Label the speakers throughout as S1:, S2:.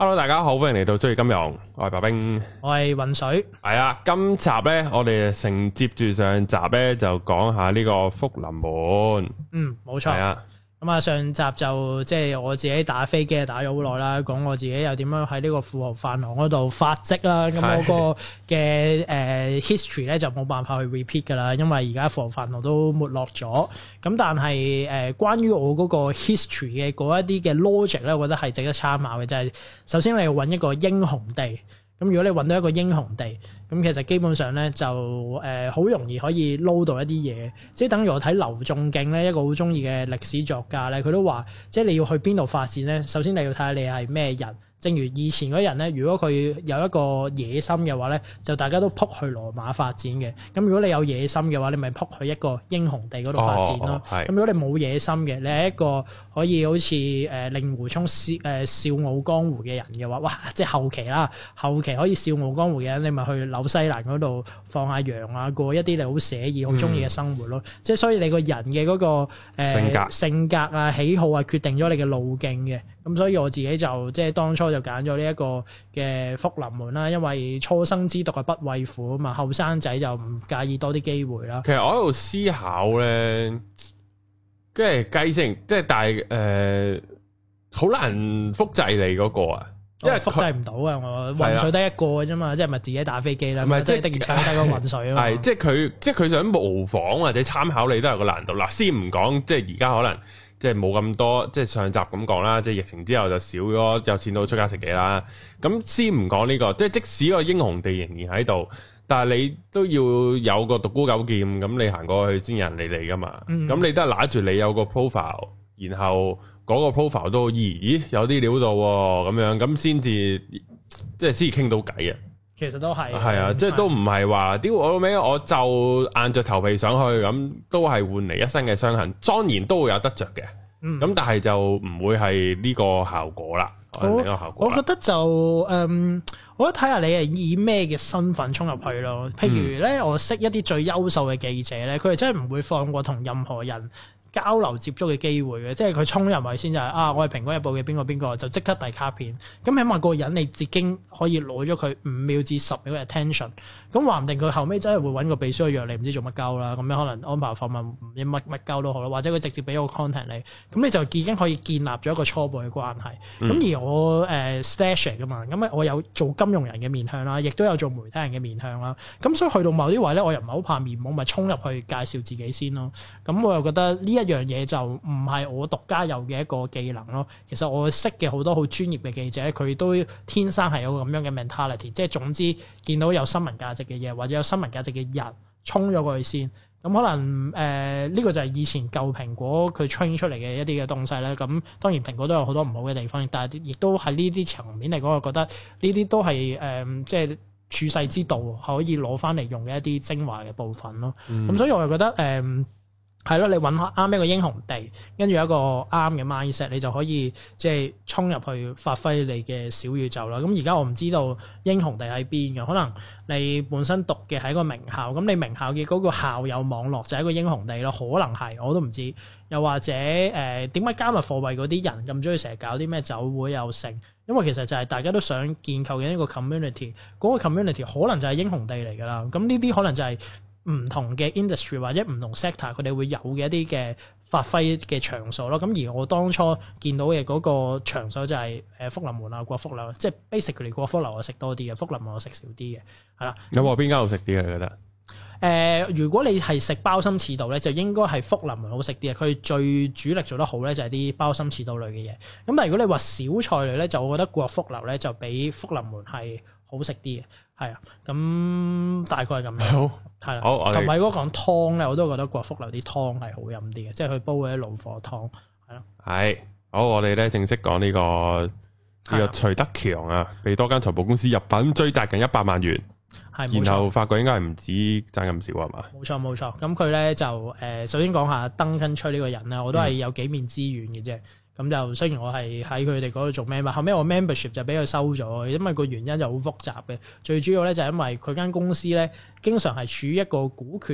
S1: Hello， 大家好，歡迎嚟到最金融，我係白兵，
S2: 我係渾水。
S1: 係啊，今集咧，我哋承接住上集咧，就講下呢個福臨門。
S2: 冇錯。係啊。咁啊，上集就即係我自己打飛機打咗好耐啦，講我自己又點樣喺呢個富豪飯堂嗰度發跡啦。咁我個嘅history 咧就冇辦法去 repeat 噶啦，因為而家富豪飯堂都沒落咗。咁但係關於我嗰個 history 嘅嗰一啲嘅 logic 咧，我覺得係值得參考嘅，就係首先你要揾一個英雄地。咁如果你揾到一個英雄地，咁其實基本上咧就好容易可以撈到一啲嘢，即係等於我睇劉仲敬咧，一個好中意嘅歷史作家咧，佢都話，即係你要去邊度發展咧，首先你要睇下你係咩人。正如以前嗰人咧，如果佢有一個野心嘅話咧，就大家都撲去羅馬發展嘅。咁如果你有野心嘅話，你咪撲去一個英雄地嗰度發展咯。咁如果你冇野心嘅，你係一個可以好似令狐沖笑傲江湖嘅人嘅話，哇！即係後期可以笑傲江湖嘅人，你咪去紐西蘭嗰度放下羊啊，過一啲你好寫意、好中意嘅生活咯。即係所以你個人嘅嗰個性格啊、喜好啊，決定咗你嘅路徑嘅。咁所以我自己就即係當初就揀咗呢一個嘅福臨門啦，因為初生之犢不畏虎啊嘛，後生仔就唔介意多啲機會啦。
S1: 其實我喺度思考咧，即係計成，即係但係好難複製你嗰個啊，因為複
S2: 製唔到啊，我渾水得一個嘅啫嘛，即係咪自己打飛機啦？唔係即係的而且確得個渾水啊嘛。係
S1: 即係佢想模仿或者參考你都有個難度。嗱，先唔講，即係而家可能。即係冇咁多，即係上集咁講啦。即係疫情之後就少咗，有錢到出街食嘢啦。咁先唔講呢個，即係即使個英雄地仍然喺度，但係你都要有個獨孤九劍，咁你行過去先有人理你噶嘛。咁你都係拿住你有個 profile，然後嗰個 profile 都咦有啲料到喎，咁樣咁先至即係先至傾到偈啊。
S2: 其實都係
S1: 啊，即係都唔係話屌我尾，我就硬着頭皮上去，咁都係換嚟一身嘅傷痕，當然都會有得着嘅。咁但係就唔會係呢個效果啦。我
S2: 覺得就我覺得睇下你係以咩嘅身份衝入去咯。譬如咧，我識一啲最優秀嘅記者咧，佢哋真係唔會放過同任何人交流接觸嘅機會嘅，即係佢衝入去先就係我係蘋果日報嘅邊個就即刻遞卡片，咁起碼個人你自己可以攞咗佢5秒至10秒嘅 attention， 咁話唔定佢後尾真係會揾個秘書去約你唔知做乜鳩啦，咁樣可能安排訪問唔知乜鳩都好啦，或者佢直接俾個 contact 你，咁你就已經可以建立咗一個初步嘅關係。咁而我stash 㗎嘛，咁我有做金融人嘅面向啦，亦都有做媒體人嘅面向啦，咁所以去到某啲位咧，我又唔係好怕面懵，咪衝入去介紹自己先咯。咁我又覺得呢一樣嘢就唔係我獨家有嘅一個技能咯。其實我識嘅好多好專業嘅記者，佢都天生係有個咁樣嘅 mentality， 即係總之見到有新聞價值嘅嘢或者有新聞價值嘅人，衝咗過去先。咁可能呢個就係以前舊蘋果佢 train 出嚟嘅一啲嘅東西咧。咁當然蘋果都有好多唔好嘅地方，但係亦都喺呢啲層面嚟講，我覺得呢啲都係即係處世之道可以攞翻嚟用嘅一啲精華嘅部分咯。咁所以我又覺得係咯，你揾啱一個英雄地，跟住一個啱嘅 mindset，你就可以即係衝入去發揮你嘅小宇宙啦。咁而家我唔知道英雄地喺邊嘅，可能你本身讀嘅係一個名校，咁你名校嘅嗰個校友網絡就係一個英雄地咯，可能係我都唔知。又或者點解加密貨幣嗰啲人咁中意成日搞啲咩酒會又成？因為其實就係大家都想建構嘅一個 community， 嗰個 community 可能就係英雄地嚟㗎啦。咁呢啲可能就係唔同嘅 industry 或者唔同 sector 佢哋會有嘅一啲嘅發揮嘅場所咯。咁而我當初見到嘅嗰個場所就係福臨門啊、國福樓，即係 basically 國福樓我食多啲嘅，福臨門我食少啲嘅，係啦。
S1: 有冇邊間好食啲啊？你覺得？
S2: 如果你係食鮑參翅肚咧，就應該係福臨門好食啲嘅。佢最主力做得好咧，就係啲鮑參翅肚類嘅嘢。咁但係如果你話小菜類咧，就我覺得國福樓咧就比福臨門係好食啲嘅。係啊，咁大概係咁樣。好，係啦。好，同埋如果講湯咧，我都覺得國福樓啲湯係好飲啲嘅，即係佢煲嗰啲老火湯，係咯。係，好，我哋咧正式講呢個徐德強啊，被多間財務公司入稟追責近100萬元。係，然後發覺應該係唔止爭咁少係嘛？冇錯。咁佢咧就首先講下登根吹呢個人啦，我都係有幾面之緣嘅啫。咁就雖然我係喺佢哋嗰度做 member，後尾我 membership 就俾佢收咗，因為個原因就好複雜嘅。最主要咧就係因為佢間公司咧經常係處於一個股權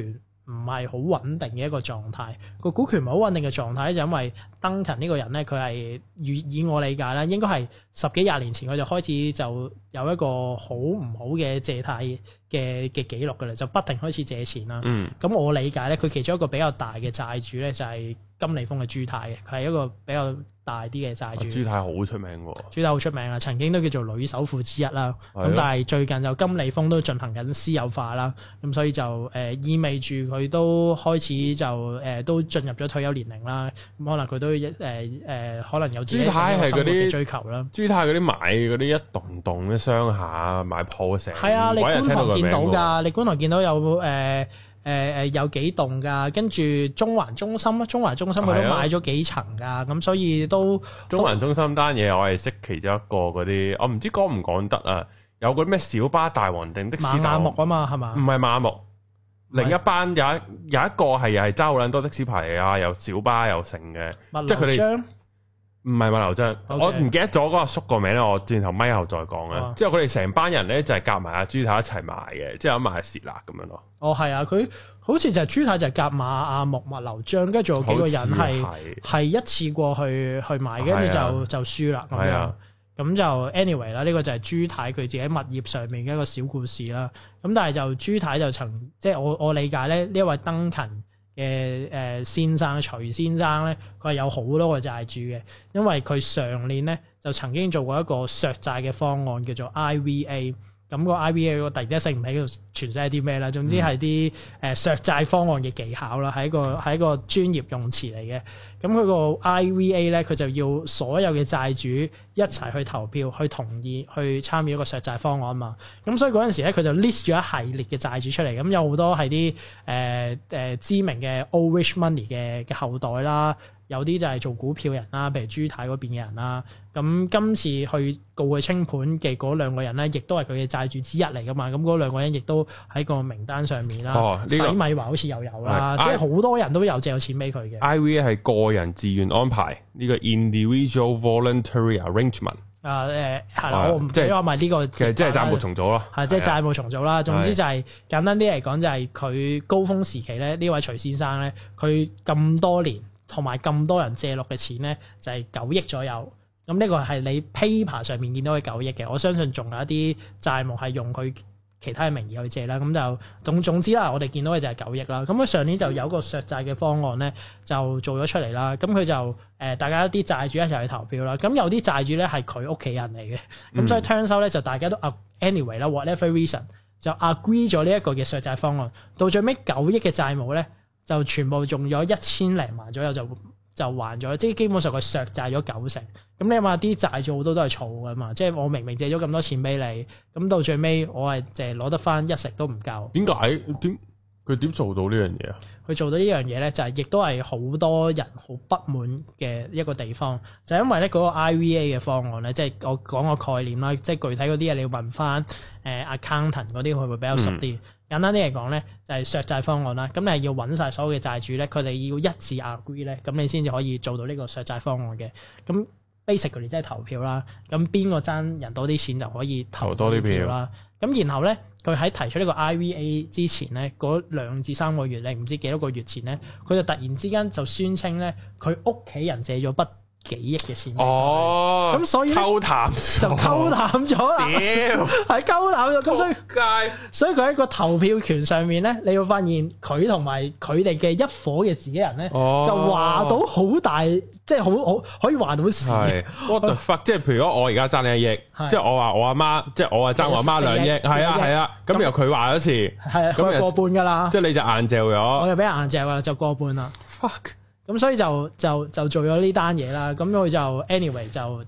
S2: 唔係好穩定嘅一個狀態。個股權唔係好穩定嘅狀態咧，就因為 Duncan 呢個人咧，佢係以我理解咧，應該係10幾20年前佢就開始就有一個好唔好嘅借貸嘅記錄㗎啦，就不停開始借錢啦。咁我理解咧，佢其中一個比較大嘅債主咧就係金利豐嘅朱太嘅，佢係一個比較大啲嘅債主。朱太好出名喎，朱太好出名啊！曾經都叫做女首富之一啦。咁但係最近就金利豐都進行緊私有化啦，咁所以就意味住佢都開始就都進入咗退休年齡啦。咁可能佢都可能有自己生活嘅追求啦。朱太嗰啲買嗰啲一棟棟嘅商廈買鋪成係啊！你觀塘見到㗎，你觀塘見到有有幾棟㗎，跟住中環中心佢都買咗幾層㗎，咁所以都
S1: 中環中心單嘢我係識其中一個嗰啲，我唔知講唔講得啊？有個咩小巴大王定的士大王馬木啊嘛，係嘛？唔係馬木，另一班有一個係又係揸好撚多的士牌啊，又小巴又成嘅，即係佢哋。唔係物流章， Okay. 我唔記得咗嗰個叔個名咧，我轉頭咪後再講啦。之後佢哋成班人咧就係夾埋阿朱太一齊賣嘅，即係賣蝕啦咁樣咯。哦，係啊，佢好似就係朱太就係夾埋阿木物流章，跟住仲有幾個人係一次過去買，跟住就輸啦。係啊，咁就 anyway 啦，呢個就係朱太佢自己物業上面嘅一個小故事啦。咁但係就朱太就曾即係我理解咧，呢一位登勤嘅先生徐先生咧，佢係有好多個債主嘅，因為佢上年咧就曾經做過一個削債嘅方案，叫做 IVA。咁個 IVA 我突然之間醒唔起佢全寫係啲咩啦，總之係啲削債方案嘅技巧啦，係一個專業用詞嚟嘅。咁佢個 IVA 咧，佢就要所有嘅債主一齊去投票，去同意去參與一個削債方案嘛。咁所以嗰陣時咧，佢就 list 咗一系列嘅債主出嚟，咁有好多係啲知名嘅 Old Rich Money 嘅後代啦。有啲就係做股票人啦，譬如朱太嗰邊嘅人啦。咁今次去告佢清盤嘅嗰兩個人咧，亦都係佢嘅債主之一嚟噶嘛。咁嗰兩個人亦都喺個名單上面啦。洗米華好似又有啦，即係好多人都有借有錢俾佢嘅。IVA 係個人自願安排，呢個 individual voluntary arrangement。係啦，我唔即係話埋呢個，其實即係債務重組咯。係即係債務重組啦。總之就係簡單啲嚟講，就係佢高峰時期咧，呢位徐先生咧，佢咁多年。同埋咁多人借落嘅錢咧，就係9億左右。咁呢個係你 paper 上面見到嘅9億嘅。我相信仲有一啲債務係用佢其他嘅名義去借啦。咁就總之啦，我哋見到嘅就係9億啦。咁佢上年就有個削債嘅方案咧，就做咗出嚟啦。咁佢就大家啲債主一齊去投票啦。咁有啲債主咧係佢屋企人嚟嘅。咁所以 turns out 咧就大家都 anyway 啦 whatever reason 就 agree 咗呢一個嘅削債方案。到最尾9億嘅債務咧，就全部用咗1000零萬左右就還咗，即係基本上佢削債咗90%。咁你諗下啲債主好多都係儲噶嘛，即係我明明借咗咁多錢俾你，咁到最尾我係淨係攞得翻1成都唔夠。點解？佢點做到呢樣嘢啊？佢做到呢樣嘢咧，就係亦都係好多人好不滿嘅一個地方，就係因為咧嗰個 IVA 嘅方案咧，即係我講個概念啦，即係具體嗰啲嘢你要問翻accountant 嗰啲，佢會比較熟啲。簡單啲嚟講咧，就係削債方案啦。咁你係要揾晒所有嘅債主咧，佢哋要一致 agree 咧，咁你先至可以做到呢個削債方案嘅。咁 basically 即係投票啦。咁邊個爭人多啲錢就可以投多啲票啦。咁然後咧，佢喺提出呢個 IVA 之前咧，嗰2至3個月你唔知幾多個月前咧，佢就突然之間就宣稱咧，佢屋企人借咗筆幾億嘅錢哦，咁所以偷淡就偷淡咗啦，係偷淡咗，咁所以佢喺個投票權上面咧，你會發現佢同埋佢哋嘅一伙嘅自己人咧，就話到好大，即係好可以話到事。What the fuck？即係譬如我而家爭你1億，即係我話我阿媽，即係我話爭我阿媽2億，係啊，咁然後佢話咗次，係啊，咁過半噶啦，即係你就硬嚼咗，我就俾人硬嚼啦，就過半啦。Fuck！咁所以就做咗呢單嘢啦，咁佢就 anyway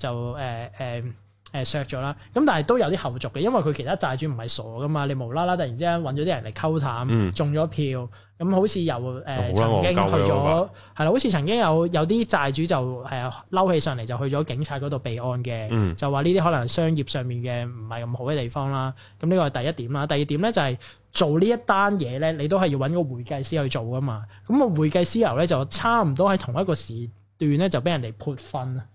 S1: 就削咗啦。咁但係都有啲後續嘅，因為佢其他債主唔係傻噶嘛，你無啦啦突然之間揾咗啲人嚟溝淡，中咗票，咁好似又曾經去咗係啦，好似曾經有啲債主就嬲起上嚟就去咗警察嗰度備案嘅，就話呢啲可能商業上面嘅唔係咁好嘅地方啦。咁呢個係第一點啦。第二點咧就係做呢一單嘢咧，你都係要揾個會計師去做噶嘛。咁個會計師樓咧就差唔多喺同一個時段咧就俾人哋潑糞啊！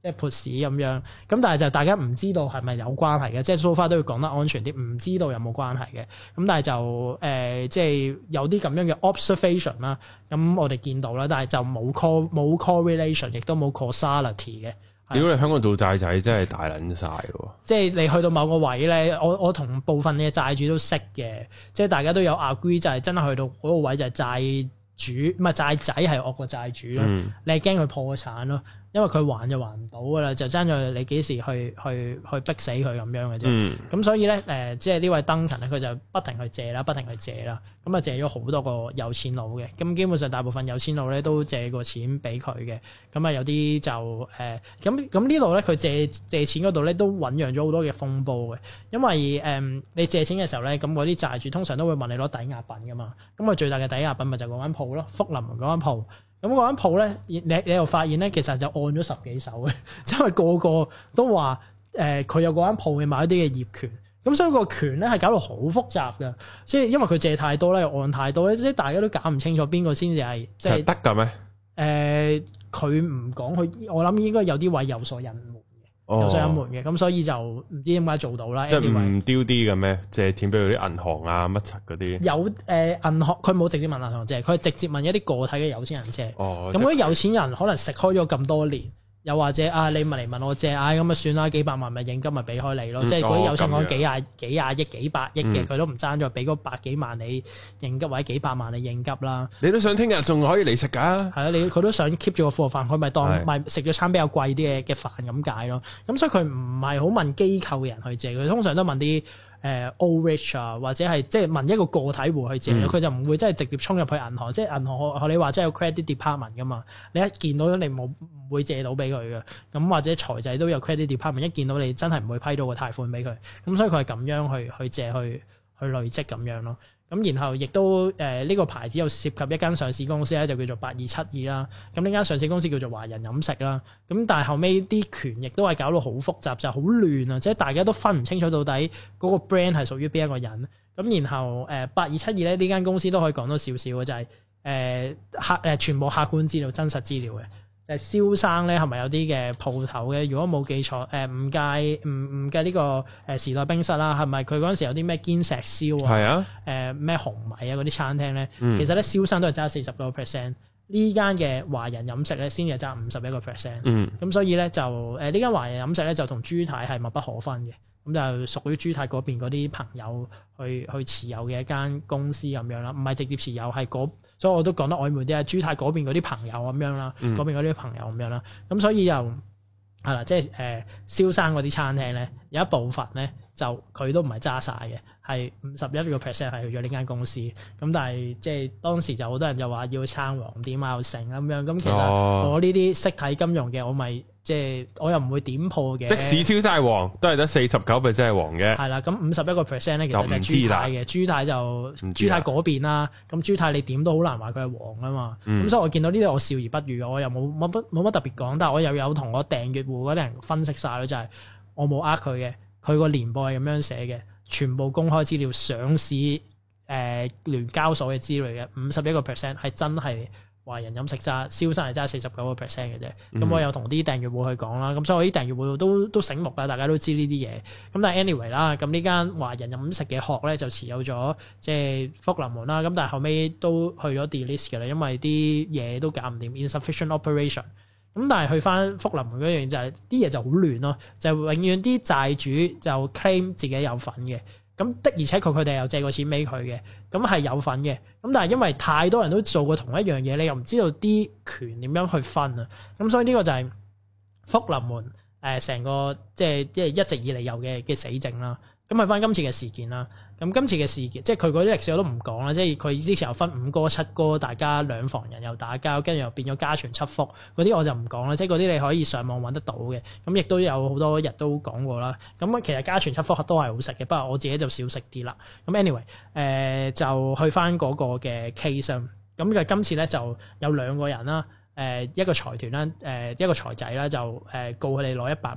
S2: 即係潑屎咁樣。咁但係就大家唔知道係咪有關係嘅，即係 so far 都要講得安全啲，唔知道有冇關係嘅。咁但係就即係有啲咁樣嘅 observation 啦。咁我哋見到啦，但係就冇 correlation， 亦都冇 causality 嘅。
S1: 屌你香港做債仔真係大撚晒喎！
S2: 即係你去到某個位咧，我同部分嘅債主都識嘅，即係大家都有 agree 就係真係去到嗰個位就係債主唔係債仔係惡過債主咯。你係驚佢破產咯，因為佢還就還唔到噶啦，就爭在你幾時去逼死佢咁樣嘅啫。咁所以咧即係呢位登勤咧，佢就不停去借啦，咁啊借咗好多個有錢佬嘅。咁基本上大部分有錢佬咧都借過錢俾佢嘅。咁啊有啲就咁呢度咧，佢借錢嗰度咧都醖釀咗好多嘅風波嘅。因為你借錢嘅時候咧，咁嗰啲債主通常都會問你攞抵押品噶嘛。咁佢最大嘅抵押品咪就嗰間鋪咯，福臨門嗰間鋪。咁嗰間鋪咧，你又發現咧，其實就按咗10幾手嘅，因為個個都話佢有嗰間鋪嘅某一啲嘅業權，咁所以個權咧係搞到好複雜嘅，即係因為佢借太多咧，又按太多咧，即係大家都搞唔清楚邊個先至係即係得
S1: 㗎咩？
S2: 佢唔講，佢我諗應該有啲位有所隱瞞嘅，有所隱瞞嘅，咁所以就唔知點解做到啦。
S1: 即係唔丟啲嘅咩？借錢俾佢啲銀行啊乜柒嗰啲？有
S2: 銀行，佢冇直接問銀行借，佢係直接問一啲個體嘅有錢人借。咁嗰啲有錢人可能食開咗咁多年。又或者你咪嚟問我借，咁啊算啦，幾百萬咪應急咪俾開你咯，即係嗰啲有錢講幾廿億、幾百億嘅，佢都唔爭咗俾嗰百幾萬你應急或者幾百萬你應急啦。
S1: 你都想聽日仲可以嚟食㗎？係啊，
S2: 佢都想 keep 住個貨飯，佢咪當咪食咗餐比較貴啲嘅飯咁解咯。咁所以佢唔係好問機構嘅人去借，佢通常都問啲old rich 啊，或者係即係問一個個體戶去借咯，佢就唔會真係直接衝入去銀行，即係銀行學你話即係有 credit department 噶嘛，你一見到你唔會借到俾佢嘅，咁或者財仔都有 credit department，一見到你真係唔會批到個貸款俾佢，咁所以佢係咁樣去借去累積咁樣咯。咁然後亦都呢個牌子又涉及一間上市公司咧，就叫做8272啦。咁呢間上市公司叫做華人飲食啦。咁但係後尾啲權亦都係搞到好複雜，就好亂啊！即係大家都分唔清楚到底嗰個 brand 係屬於邊一個人。咁然後8272咧呢間公司都可以講多少少嘅，就係全部客觀資料、真實資料嘅。蕭生咧係咪有啲嘅鋪頭嘅？如果冇記錯，唔計呢個時代冰室啦，係咪佢嗰陣時有啲咩堅石燒啊？係啊，咩紅米啊嗰啲餐廳咧，其實咧蕭生都係揸40%，呢間嘅華人飲食咧先至揸51%。咁所以咧就呢間華人飲食咧就同朱太係密不可分嘅，咁就屬於朱太嗰邊嗰啲朋友去持有嘅一間公司咁樣啦，唔係直接持有係所以我都講得曖昧啲啊，朱太嗰邊嗰啲朋友咁樣啦，嗰邊嗰啲朋友咁樣啦，咁所以又係啦，即係蕭生嗰啲餐廳咧，有一部分咧就佢都唔係揸晒嘅，係51%係去咗呢間公司，咁但係即係當時就好多人就話要撐黃店啊，又成咁樣，咁其實我呢啲識睇金融嘅，我咪即係我又唔會點破嘅。即使蕭生係黃，都係得49%係黃嘅。係啦，咁51%咧，其實就係朱太嘅，朱太就朱太嗰邊啦。咁朱太你點都好難話佢係黃啊嘛。咁所以我見到呢啲我笑而不語，我又冇乜特別講，但係我又有同我訂閱戶嗰啲人分析晒咯，就係我冇佢嘅，佢個年報係咁樣寫嘅，全部公開資料，上市聯交所嘅資料嘅51%係真係。華人飲食揸，蕭生係揸49%嘅啫。咁我有同啲訂閱戶去講啦，咁所以我啲訂閱戶都醒目啦，大家都知呢啲嘢。咁但係 anyway 啦，咁呢間華人飲食嘅殼咧就持有咗即係福臨門啦。咁但係後尾都去咗 delist 嘅啦，因為啲嘢都搞唔掂 insufficient operation。咁但係去翻福臨門嗰樣就係啲嘢就好亂咯，就永遠啲債主就 claim 自己有份嘅。咁的而且確佢哋又借過錢俾佢嘅，咁係有份嘅。咁但係因為太多人都做過同一樣嘢，你又唔知道啲權點樣去分啊。咁所以呢個就係福臨門成個即係一直以嚟有嘅死症啦。咁去翻今次嘅事件啦。咁今次嘅事件，即係佢嗰啲歷史我都唔講啦。即係佢之前又分5哥7哥，大家兩房人又打交，跟住又變咗家傳7福嗰啲，我就唔講啦。即係嗰啲你可以上網揾得到嘅。咁亦都有好多日都講過啦。咁其實家傳7福都係好食嘅，不過我自己就少食啲啦。咁 anyway，就去翻嗰個嘅 case。咁嘅今次咧就有2個人啦，一個財團啦，一個財仔啦，就告佢哋攞100萬。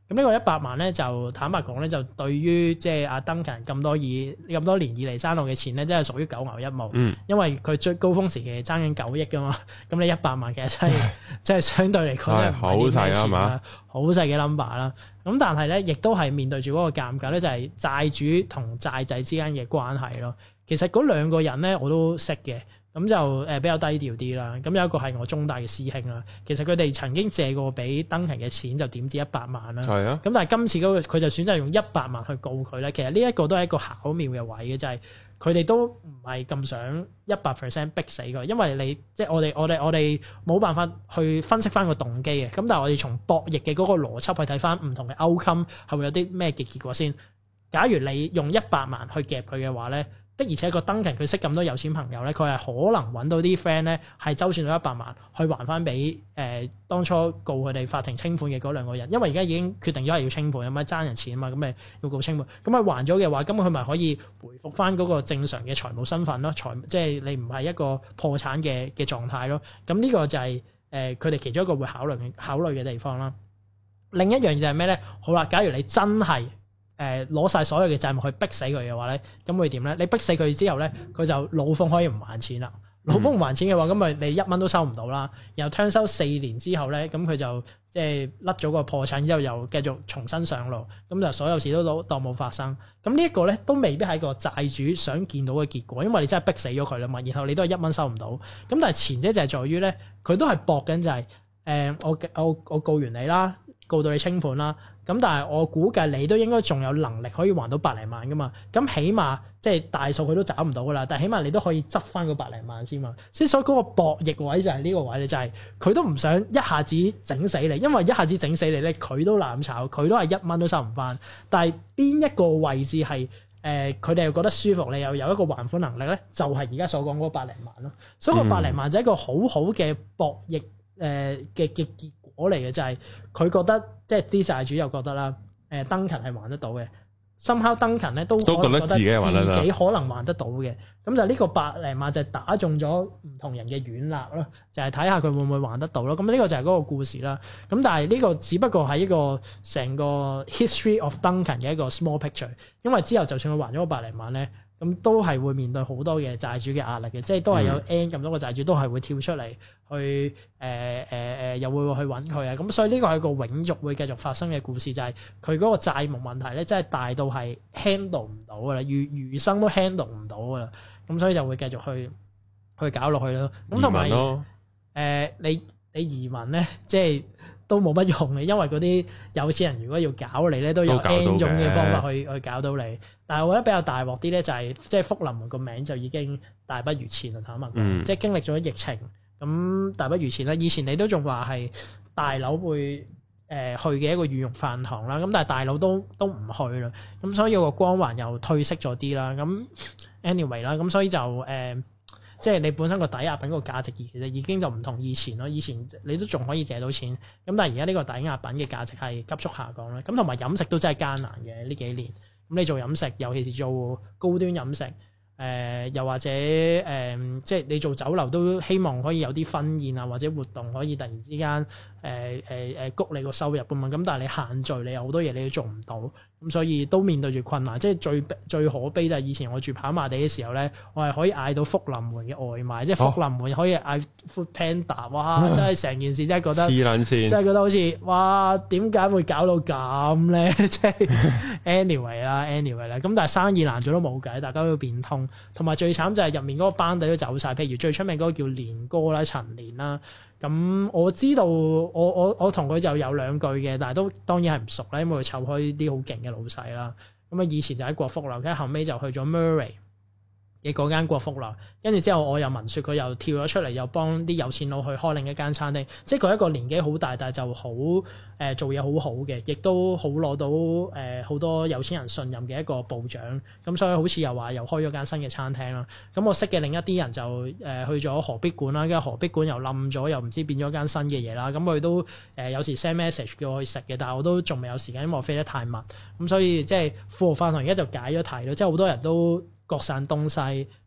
S2: 咁呢個100萬咧，就坦白講咧，就對於即係阿 Duncan 咁多年以嚟爭落嘅錢咧，真係屬於九牛一毛。因為佢最高峰時期爭緊9億噶嘛，咁你100萬其實真係相對嚟講真係好細啊嘛，好細嘅 number 啦。咁但係咧，亦都係面對住嗰個尷尬咧，就係債主同債仔之間嘅關係咯。其實嗰兩個人咧，我都識嘅。咁就比較低調啲啦。咁有一個係我中大嘅師兄啦。其實佢哋曾經借過俾Duncan嘅錢，就點止100萬啦。係啊。咁但係今次嗰個佢就選擇用100萬去告佢咧。其實呢一個都係一個巧妙嘅位嘅，就係佢哋都唔係咁想100% 逼死佢，因為你即係我哋冇辦法去分析翻個動機嘅。咁但係我哋從博弈嘅嗰個邏輯去睇翻唔同嘅 outcome 係會有啲咩嘅結果先。假如你用100萬去夾佢嘅話咧。的而且確Duncan佢識咁多有錢朋友咧，佢係可能揾到啲 friend 咧，係周轉到100萬去還翻俾當初告佢哋法庭清盤嘅嗰兩個人，因為而家已經決定咗係要清盤，有咪爭人錢啊嘛，咁咪要告清盤。咁佢還咗嘅話，咁佢咪可以回復翻嗰個正常嘅財務身份咯，即係你唔係一個破產嘅狀態咯。咁呢個就係佢哋其中一個會考慮嘅地方啦。另一樣就係咩咧？好啦，假如你真係攞晒所有嘅債務去逼死佢嘅話咧，咁會點咧？你逼死佢之後咧，佢就老奉可以唔還錢啦。老奉唔還錢嘅話，咁咪你1蚊都收唔到啦。然後聽收4年之後咧，咁佢就即係甩咗個破產之後，又繼續重新上路，咁就所有事都當冇發生。咁呢一個咧都未必係個債主想見到嘅結果，因為你真係逼死咗佢啦嘛。然後你都係1蚊收唔到。咁但係前者就係在於咧，佢都係搏緊就係我告完你啦，告到你清盤啦。咁但係我估計你都應該仲有能力可以還到百零萬噶嘛，咁起碼即係大數佢都找唔到噶啦，但係起碼你都可以執翻個百零萬先嘛。所以嗰個博弈位就係呢個位咧，就係佢都唔想一下子整死你，因為一下子整死你咧，佢都攬炒，佢都係1蚊都收唔翻。但係邊一個位置係佢哋又覺得舒服，你又有一個還款能力咧，就係而家所講嗰百零萬咯。所以個百零萬就係一個好好嘅博弈嘅結果嚟嘅，就係佢覺得即係啲債主又覺得啦，Duncan 係還得到嘅，somehow Duncan 咧都覺得自己可能還得到嘅，咁就呢個百零萬就係打中咗唔同人嘅軟肋咯，就係睇下佢會唔會還得到咯。咁呢個就係嗰個故事啦。咁但係呢個只不過係一個成個 history of Duncan 嘅一個 small picture，因為之後就算佢還咗個百零萬咧，咁都係會面對好多嘅債主嘅壓力嘅，即係都係有 N 咁多個債主都係會跳出嚟去又會去揾佢啊，咁所以呢個係一個永續會繼續發生嘅故事，就係佢嗰個債務問題咧，真係大到係 handle 唔到噶啦，餘生都 handle 唔到噶啦，咁所以就會繼續去搞落去咯。咁同埋你移民咧，即係都冇乜用嘅，因為嗰啲有錢人如果要搞你咧，都有 N 種嘅方法去搞到你。但係我覺得比較大鑊啲咧，就係即係福臨門個名就已經大不如前啦，坦白講，即係經歷咗疫情，咁大不如前啦。以前你都仲話係大佬會去嘅一個御用飯堂啦，咁但係大佬都唔去啦，咁所以個光環又褪色咗啲啦。咁 anyway 啦，咁所以就即係你本身個抵押品個價值其實已經就唔同以前咯，以前你都仲可以借到錢，咁但係而家呢個抵押品嘅價值係急速下降啦。咁同埋飲食都真係艱難嘅呢幾年，咁你做飲食，尤其是做高端飲食，又或者即係你做酒樓都希望可以有啲婚宴啊或者活動可以突然之間谷你個收入㗎嘛，咁但係你限聚，你有好多嘢你都做唔到，咁所以都面對住困難。即係最可悲就係以前我住跑馬地嘅時候咧，我係可以嗌到福臨門嘅外賣，即係福臨門可以嗌 Food Panda，哇！真係成件事真係覺得黐撚線，真係覺得好似哇點解會搞到咁咧？即係 anyway 啦，咁但係生意難做都冇計，大家都要變通。同埋最慘就係入面嗰個班底都走晒，譬如最出名嗰個叫連哥啦、陳連啦。咁我知道我同佢就有兩句嘅，但係都當然係唔熟啦，因為佢湊開啲好勁嘅老細啦。咁啊以前就喺國福樓，跟住後尾就去咗 Murray 嘅嗰間國福樓，跟住之後我又聞說佢又跳咗出嚟，又幫啲有錢佬去開另一間餐廳。即係佢一個年紀好大，但係就好做嘢好好嘅，亦都好攞到好多有錢人信任嘅一個部長。咁所以好似又話又開咗間新嘅餐廳啦。咁我識嘅另一啲人就去咗何必館啦，跟住何必館又冧咗，又唔知變咗間新嘅嘢啦。咁佢都有時 send message 叫我去食嘅，但係我都仲未有時間，因為我飛得太密。咁所以即係富豪飯堂而家就解咗題咯，即係好多人都各散東西，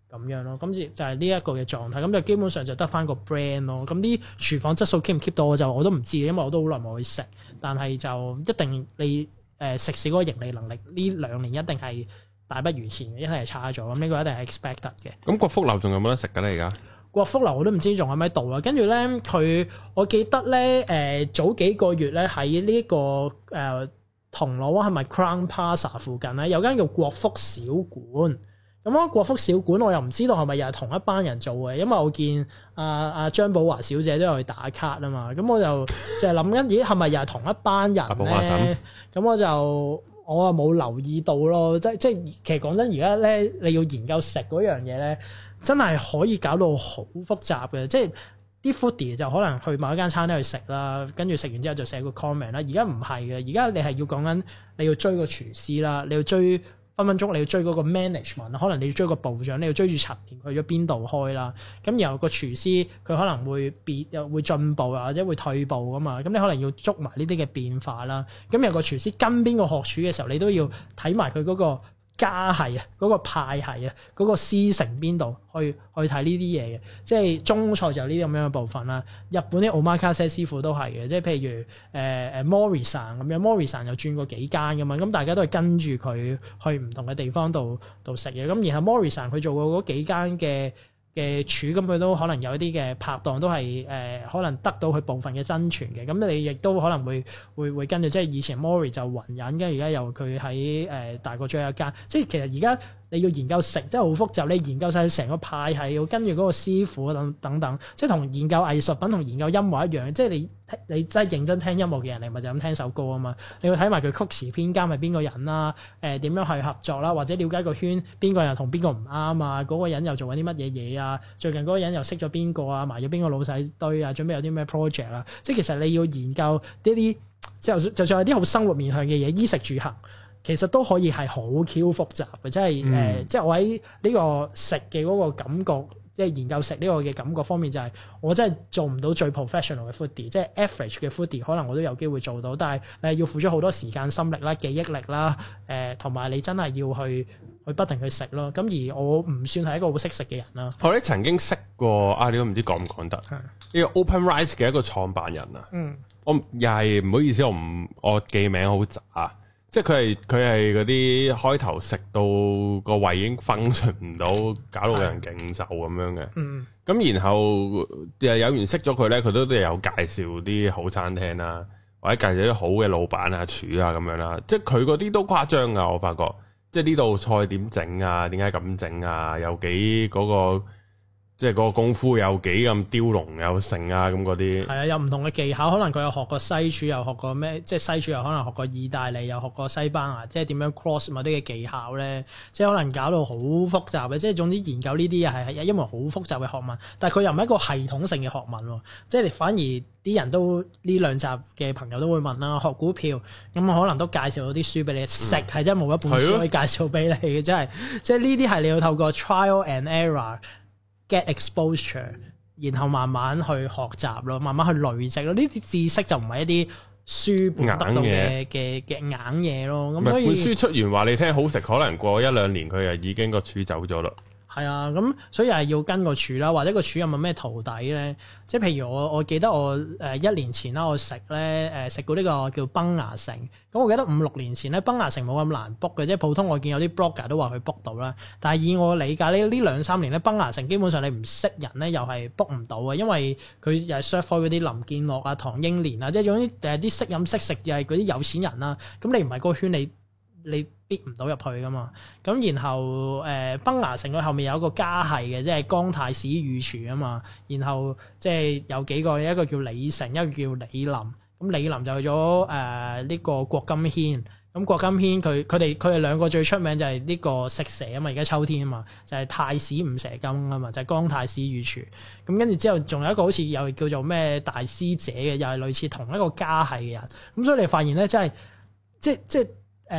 S2: 咁樣咯。咁就係呢一個嘅狀態，咁就基本上就得翻個 brand 咯。咁啲廚房質素 keep 唔 keep 到我都唔知，因為我都好耐冇去食。但係就一定你食肆嗰個盈利能力呢2年一定係大不如前嘅，一定係差咗。咁呢個一定係 expected 嘅。
S1: 咁國福樓仲有冇得食㗎咧？而家
S2: 國福樓我都唔知仲喺咪度啦。跟住咧我記得咧早幾個月咧喺呢個銅鑼灣係咪 Crown Plaza 附近咧有間叫國福小館。咁國福小館我又唔知道係咪又係同一班人做嘅，因為我見阿張寶華小姐都有去打卡啊嘛。咁我就係諗緊，咦係咪又係同一班人咧？咁我又冇留意到咯。即其實講真，而家咧你要研究食嗰樣嘢咧，真係可以搞到好複雜嘅。即係啲 foodie 就可能去某一間餐廳去食啦，跟住食完之後就寫個 comment 啦。而家唔係嘅，而家你係要講緊你要追個廚師啦，你要追。分分鐘你要追嗰個 management， 可能你要追個部長，你要追住陳年去咗邊度開啦。咁然後個廚師佢可能會又會進步或者會退步噶嘛。咁你可能要捉埋呢啲嘅變化啦。咁有個廚師跟邊個學廚嘅時候，你都要睇埋佢嗰個家系啊，嗰個派系啊，嗰個師承邊度去睇呢啲嘢嘅。即係中菜就有呢啲咁樣嘅部分啦。日本啲 omakase 師傅都係嘅，即係譬如Mori-san 咁樣，Mori-san 又轉過幾間噶嘛，咁大家都係跟住佢去唔同嘅地方度食嘢。咁然後 Mori-san 佢做過嗰幾間嘅廚，咁佢都可能有一啲嘅拍檔都係可能得到佢部分嘅真傳嘅。咁你亦都可能會跟住，即係以前 Mori 就雲隱，跟住而家又佢喺大角咀有一間。即係其實而家你要研究食真係好複雜，你研究晒成個派系，要跟住嗰個師傅等等，即係同研究藝術品同研究音樂一樣。即係你真係認真聽音樂嘅人，你咪就咁聽首歌啊嘛。你要睇埋佢曲詞編監係邊個人啦，點樣去合作啦，或者了解個圈邊個人同邊個唔啱啊，嗰個人又做緊啲乜嘢嘢啊，最近嗰個人又識咗邊個啊，埋咗邊個老細堆啊，準備有啲咩 project 啊。即係其實你要研究呢啲，就算係啲好生活面向嘅嘢，衣食住行。其實都可以係好 Q 複雜嘅，即係即係我喺呢個食嘅嗰個感覺，即係研究食呢個嘅感覺方面，就係我真係做唔到最 professional 嘅 foodie，即係 average 嘅 foodie，可能我都有機會做到，但係你要付出好多時間、心力啦、記憶力啦，同埋你真係要去不停去食咯。咁而我唔算係一個好識食嘅人啦。我
S1: 哋曾經識過你都唔知講唔講得呢個 OpenRice 嘅一個創辦人啊。我又係唔好意思，我記名好渣。即係佢係嗰啲開頭食到個胃已經 function 唔到，搞到人勁瘦咁樣嘅。咁然後有人識咗佢咧，佢都有介紹啲好餐廳啦，或者介紹啲好嘅老闆啊、廚啊咁樣啦。即係佢嗰啲都誇張噶，我發覺。即係呢道菜點整啊？點解咁整啊？有幾嗰個。即係嗰個功夫有幾咁雕龍有成啊，咁嗰啲係啊，有唔同嘅技巧，可能佢有學過西廚，又學過咩？即係西廚又可能學過意大利，又學過西班牙，即係點樣 cross 某啲嘅技巧咧？即係可能搞到好複雜嘅，即係總之研究呢啲嘢係因為好複雜嘅學問，但係佢又唔係一個系統性嘅學問喎。即係你反而啲人都呢兩集嘅朋友都會問啦，學股票咁可能都介紹到啲書俾你，食係真係冇一本書可以介紹俾你嘅，真係即係呢啲係你要透過 trial and error。Get exposure， 然後慢慢去學習咯，慢慢去累積咯。呢啲知識就唔係一啲書本得到嘅硬嘢咯。咁所以本書出完話你聽好食，可能過1-2年佢又已經個廚走咗啦。
S2: 係啊，咁所以係要跟個廚啦，或者個廚有冇咩徒弟咧？即係譬如我記得我1年前啦，我食過呢個叫崩牙城。咁我記得5-6年前咧，崩牙城冇咁難 book 嘅，即係普通我見有啲 blogger 都話佢 book 到啦。但係以我理解呢2-3年咧，崩牙城基本上你唔識人咧，又係 book 唔到嘅，因為佢又係 serve 開嗰啲林建樂啊、唐英年啊，即係總之啲識飲識食又係嗰啲有錢人啦。咁你唔係嗰個圈，你逼唔到入去噶嘛？咁然後崩牙城佢後面有一個家系嘅，即係江太史御廚啊嘛。然後即係有幾個，一個叫李成，一個叫李林。咁李林就去咗呢個郭金軒。咁郭金軒佢哋兩個最出名就係呢個食蛇啊嘛，而家秋天啊嘛，就係太史五蛇羹啊嘛，就係江太史御廚。咁跟住之後仲有一個好似又叫做咩大師姐嘅，又係類似同一個家系嘅人。咁所以你發現咧，真係即係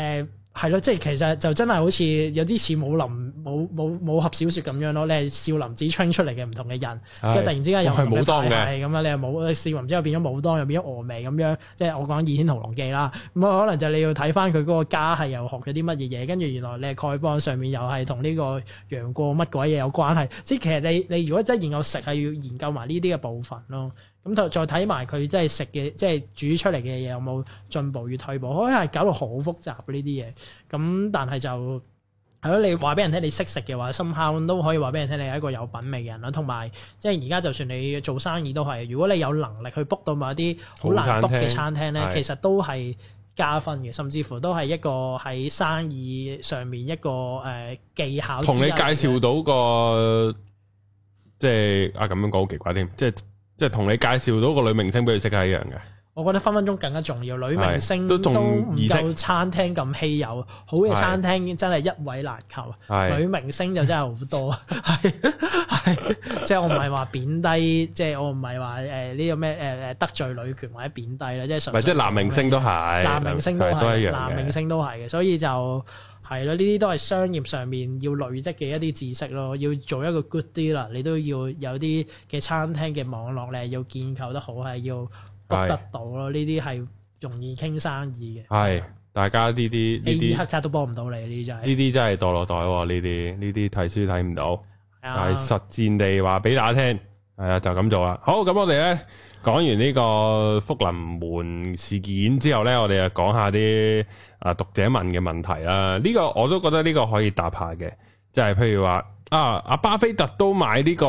S2: 係咯，即係其實就真係好似有啲似武俠小説咁樣咯。你係少林寺 train 出嚟嘅唔同嘅人，跟住突然之間又係武當嘅，係咁啊！你係少林之後變咗武當，又變咗峨眉咁樣。即係我講《倚天屠龍記》啦，咁可能就你要睇翻佢嗰個家係又學咗啲乜嘢嘢，跟住原來你係丐幫上面又係同呢個楊過乜鬼嘢有關係。即係其實你如果真係研究食係要研究埋呢啲嘅部分咯。咁就再睇埋佢即係食嘅，即係煮出嚟嘅嘢有冇進步與退步，可能係搞到好複雜呢啲嘢。咁但係就係咯，你話俾人聽你識食嘅話，somehow都可以話俾人聽你係一個有品味嘅人啦。同埋即係而家就算你做生意都係，如果你有能力去 book 到某一啲好難 book 嘅餐廳咧，其實都係加分嘅，甚至乎都係一個喺生意上面一個技巧。同你介紹到個
S1: 即係咁樣講好奇怪添，即係同你介紹到個女明星俾佢識係一樣嘅。
S2: 我覺得分分鐘更加重要，女明星都唔夠餐廳咁稀有，好嘅餐廳真係一位難求，女明星就真係好多。係即係我唔係話貶低，即係我唔係話呢個咩得罪女權或者貶低啦，即係純粹即係
S1: 男明星都係，
S2: 男明星都係，
S1: 男
S2: 明星都係嘅，所以就係咯，呢啲都係商業上面要累積嘅一啲知識咯，要做一個 good dealer，你都要有啲嘅餐廳嘅網絡咧，要建構得好，係要得到咯，呢啲係容易傾生意嘅。係
S1: 大家呢啲
S2: 黑卡都幫唔到你，呢啲真係
S1: 呢啲真係墮落袋喎，呢啲睇書睇唔到，但係實戰地話俾大家聽，係啊就咁做啦。好，咁我哋咧講完呢個福臨門事件之後咧，我哋就講下啲讀者問嘅問題啦。呢個我都覺得呢個可以答下嘅，即係譬如話阿巴菲特都買呢個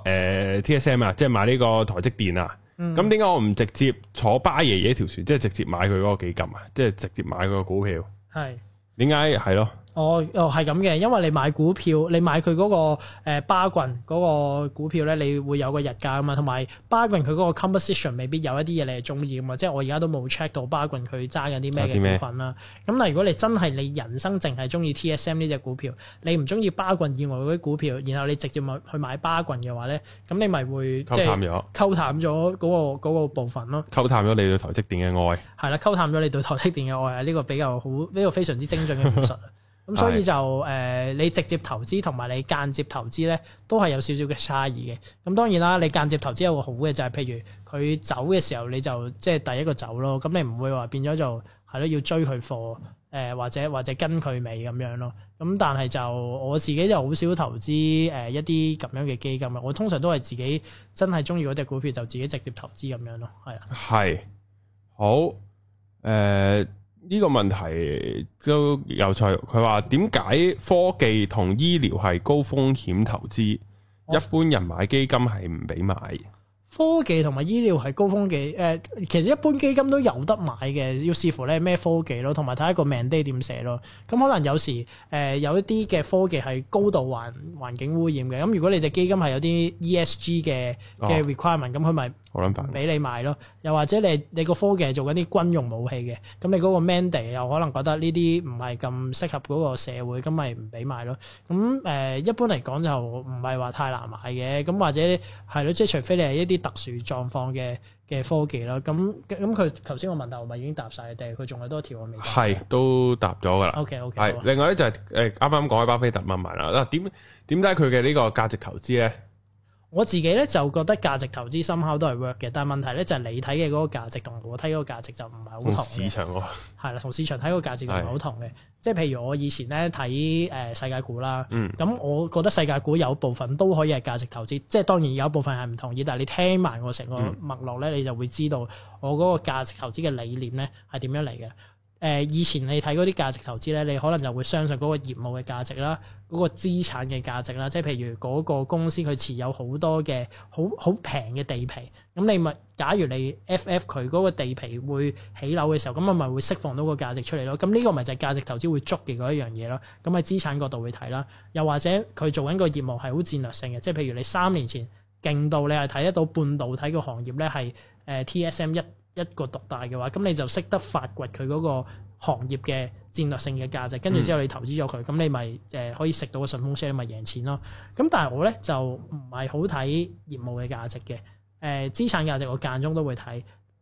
S1: TSM 啊，即係買呢個台積電啊。咁點解我唔直接坐巴爺爺條船，即係直接買佢嗰個基金啊？即係直接買佢個股票？係點解係咯？
S2: 係咁嘅，因為你買股票，你買佢嗰個巴郡嗰個股票咧，你會有個日價啊嘛，同埋巴郡佢嗰個 composition 未必有一啲嘢你係中意噶嘛，即係我而家都冇 check 到巴郡佢揸緊啲咩嘅股份啦。咁但係如果你真係你人生淨係中意 TSM 呢隻股票，你唔中意巴郡以外嗰啲股票，然後你直接去買巴郡嘅話咧，咁你咪會即係溝淡咗嗰個部分咯，
S1: 溝淡咗你對台積電嘅愛。
S2: 係啦，溝淡咗你對台積電嘅愛啊！呢個比較好，呢個非常之精準嘅描述。咁所以就你直接投資同埋你間接投資咧，都係有少少嘅差異嘅。咁當然啦，你間接投資有個好嘅就係，譬如佢走嘅時候，你就即係第一個走咯。咁你唔會話變咗就係咯，要追佢貨或者跟佢尾咁樣咯。咁但係就我自己就好少投資一啲咁樣嘅基金啊。我通常都係自己真係中意嗰隻股票就自己直接投資咁樣咯。係啊。係
S1: 好呢個問題都有趣，佢話點解科技同醫療係高風險投資，一般人買基金係唔俾買？
S2: 科技同埋醫療係高風險，其實一般基金都有得買嘅，要視乎咧咩科技咯，同埋睇一個 mandate 點寫咯。咁可能有時有一啲嘅科技係高度環境污染嘅，咁如果你隻基金係有啲 ESG 嘅 requirement，咁佢咪俾你買咯。又或者你個科技係做緊啲軍用武器嘅，咁你嗰個 mandate 又可能覺得呢啲唔係咁適合嗰個社會，咁咪唔俾買咯。咁一般嚟講就唔係話太難買嘅，咁或者係咯，即係除非你係一啲特殊狀況嘅科技啦，咁佢頭先個問題我咪已經答晒，定係佢仲有多條我未答？係
S1: 都答咗噶啦。
S2: OK，
S1: 係另外咧就係啱啱講開巴菲特問埋啦。嗱，點解佢嘅呢個價值投資咧？
S2: 我自己咧就覺得價值投資深刻都係 work 嘅，但係問題咧就係你睇嘅嗰個價值同我睇嗰個價值就唔係好同嘅。市場喎，係啦，同市場睇嗰個價值就唔係好同嘅。即係譬如我以前咧睇世界股啦，咁我覺得世界股有部分都可以係價值投資，即係當然有部分係唔同意，但係你聽埋我成個脈絡咧，你就會知道我嗰個價值投資嘅理念咧係點樣嚟嘅。以前你睇嗰啲價值投資咧，你可能就會相信嗰個業務嘅價值啦，嗰個資產嘅價值啦，即係譬如嗰個公司佢持有好多嘅好平嘅地皮，咁你咪假如你 FF 佢嗰個地皮會起樓嘅時候，咁我咪會釋放到個價值出嚟咯。咁呢個咪就係價值投資會捉嘅嗰一樣嘢咯。咁喺資產角度會睇啦，又或者佢做緊個業務係好戰略性嘅，即係譬如你3年前勁到你係睇得到半導體個行業咧係TSM 一個獨大嘅話，咁你就識得發掘佢嗰個行業嘅戰略性嘅價值，跟住之後你投資咗佢，咁你咪可以食到個順風車，你咪贏錢咯。咁但係我咧就唔係好睇業務嘅價值嘅，資產價值我間中都會睇，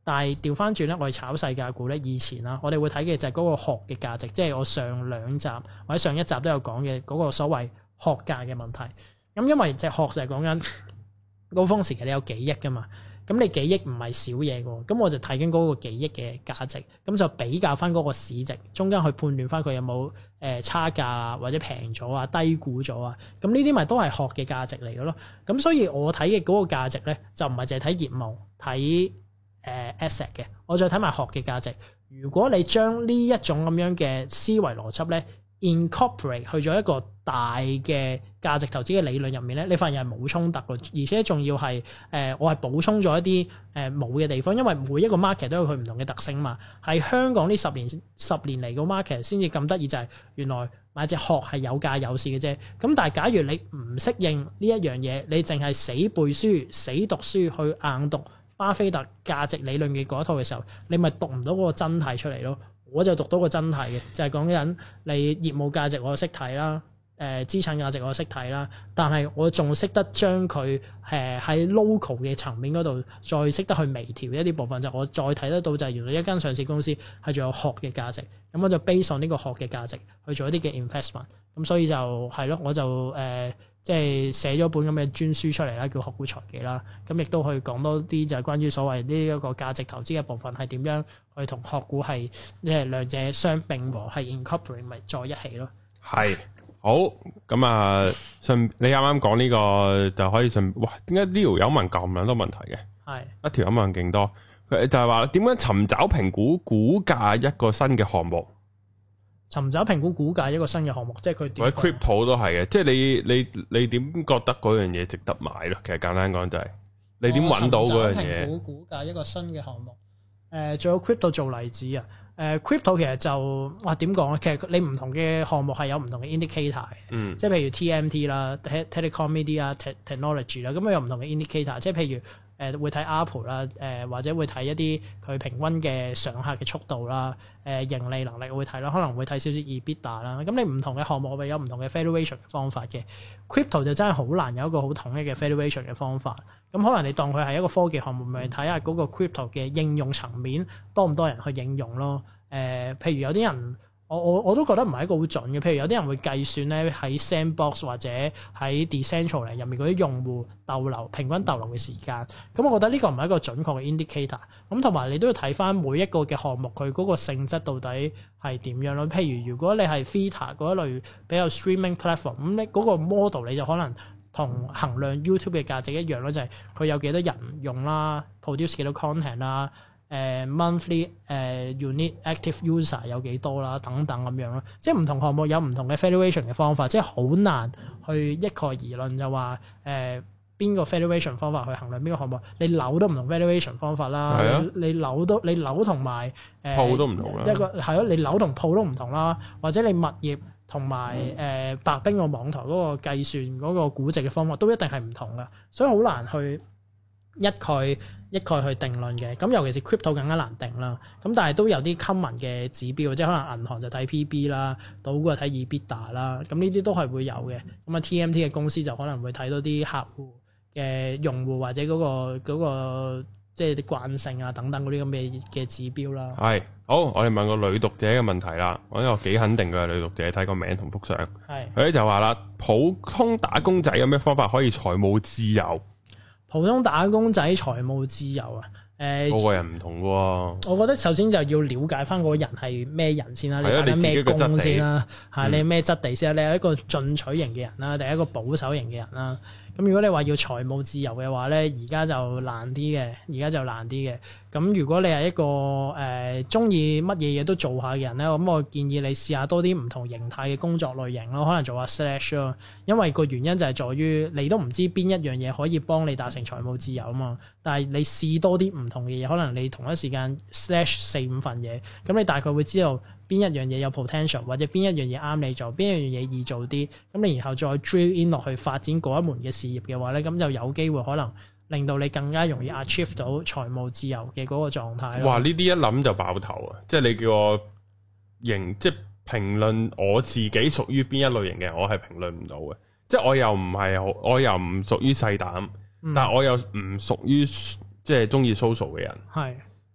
S2: 但係調翻轉咧，我哋炒細價股咧，以前啦，我哋會睇嘅就係嗰個學嘅價值，即係我上2集或者上1集都有講嘅嗰個所謂學價嘅問題。咁因為隻學就係講緊高峰時期你有幾億噶嘛。咁你幾億唔係少嘢喎，咁我就睇緊嗰個幾億嘅價值，咁就比較翻嗰個市值，中間去判斷翻佢有冇差價或者平咗啊、低估咗啊，咁呢啲咪都係學嘅價值嚟嘅咯。咁所以我睇嘅嗰個價值咧，就唔係淨係睇業務、睇asset 嘅，我再睇埋學嘅價值。如果你將呢一種咁樣嘅思維邏輯咧，incorporate 去咗一個大嘅價值投資嘅理論入面咧，你發現係冇衝突嘅，而且仲要係我係補充咗一啲冇嘅地方，因為每一個 market 都有佢唔同嘅特性嘛。喺香港呢10年嚟個 market 先至咁得意，就係原來買隻殼係有價有市嘅啫。咁但係假如你唔適應呢一樣嘢，你淨係死背書、死讀書去硬讀巴菲特價值理論嘅嗰一套嘅時候，你咪讀唔到嗰個真諦出嚟咯。我就讀到個真諦嘅，就係講緊你業務價值我識睇啦，資產價值我識睇啦，但係我仲識得將佢喺 local 嘅層面嗰度再識得去微調一啲部分，就我再睇得到就係原來一間上市公司係仲有學嘅價值，咁我就 base on 呢個學嘅價值去做一啲嘅 investment， 咁所以就係咯，我就即係寫咗本咁嘅專書出嚟啦，叫學股財技啦。咁亦都去講多啲就係關於所謂呢一個價值投資嘅部分係點樣去同學股係即係兩者相並和，係 incorporate 咪在一起咯。
S1: 係好咁啊！你啱啱講呢個就可以哇？點解呢條友問咁多問題嘅？係一條友問勁多，佢就係話點樣尋找評估股價一個新嘅項目？
S2: 尋找評估股價一個新嘅項目，即係佢點？或者
S1: crypto 都係嘅，即係你點覺得嗰樣嘢值得買咯？其實簡單講就係你點揾到嗰樣嘢？評估股價一個新嘅項目，仲有 crypto 做例子啊！crypto 其實就點講咧？其實你唔同嘅項目係有唔同嘅 indicator 嘅，即係譬如 TMT 啦、telecom media、technology 啦，咁有唔同嘅 indicator， 即係譬如。會睇 Apple 啦，或者會睇一啲佢平均嘅上客嘅速度啦，盈利能力會睇啦，可能會睇少少 EBITDA 啦。咁你唔同嘅項目會有唔同嘅 valuation 嘅方法嘅。Crypto 就真係好難有一個好統一嘅 valuation 嘅方法。咁可能你當佢係一個科技項目，咪睇下嗰個 crypto 嘅應用層面多唔多人去應用咯。譬如有啲人。我都覺得唔係一個好準嘅，譬如有啲人會計算咧喺 Sandbox 或者喺 Decentraland 入面嗰啲用戶逗留平均逗留嘅時間，咁我覺得呢個唔係一個準確嘅 indicator。咁同埋你都要睇翻每一個嘅項目佢嗰個性質到底係點樣咯。譬如如果你係 Theta 嗰一類比較 streaming platform，咁你嗰個 model 你就可能同衡量 YouTube 嘅價值一樣咯，就係佢有幾多人用啦 ，produce 幾多 content 啦。monthly unique active user 有幾多啦，等等咁樣咯，即係唔同項目有唔同嘅 valuation 嘅方法，即係好難去一概而論就話邊個 valuation 方法去衡量邊個項目，你樓都唔同 valuation 方法啦，你樓同埋鋪都唔同啦，
S2: 一個係咯，你樓同鋪都唔同啦，或者你物業同埋白兵個網台嗰個計算嗰個估值嘅方法都一定係唔同噶，所以好難去一概去定論嘅，咁尤其是 crypto 更加難定啦。咁但係都有啲 common 嘅指標，即係可能銀行就睇 PB 啦，賭股就睇 EBITDA 啦。咁呢啲都係會有嘅。咁啊 TMT 嘅公司就可能會睇到啲客戶嘅用戶或者嗰個即係啲慣性啊等等嗰啲咁嘅指標啦。係
S1: 好，我哋問個女讀者嘅問題啦。我呢個幾肯定嘅女讀者，睇個名同幅相。係佢咧就話啦，普通打工仔有咩方法可以財務自由？
S2: 普通打工仔財務自由啊？
S1: 個個人唔同喎。
S2: 我覺得首先就要了解翻嗰個人係咩人先啦，你睇緊咩工先啦，你係咩質地先啦，你係一個進取型嘅人啦，定係一個保守型嘅人啦？咁如果你話要財務自由嘅話咧，而家就難啲嘅。咁如果你係一個鍾意乜嘢嘢都做下嘅人咧，咁我建議你試下多啲唔同形態嘅工作類型咯，可能做下 slash 咯，因為個原因就係在於你都唔知邊一樣嘢可以幫你達成財務自由啊嘛。但係你試多啲唔同嘅嘢，可能你同一時間 slash 4-5份嘢，咁你大概會知道邊一樣嘢有 potential， 或者邊一樣嘢啱你做，邊一樣嘢易做啲，咁你然後再 drill in 落去發展嗰一門嘅事業嘅話咧，咁就有機會可能令到你更加容易 achieve 到財務自由嘅嗰個狀態。哇！
S1: 呢啲一諗就爆頭啊！即係你叫我即係評論我自己屬於邊一類型嘅人，我係評論唔到嘅。即係我又唔屬於細膽，但係我又唔屬於即係中意 social 嘅人。係。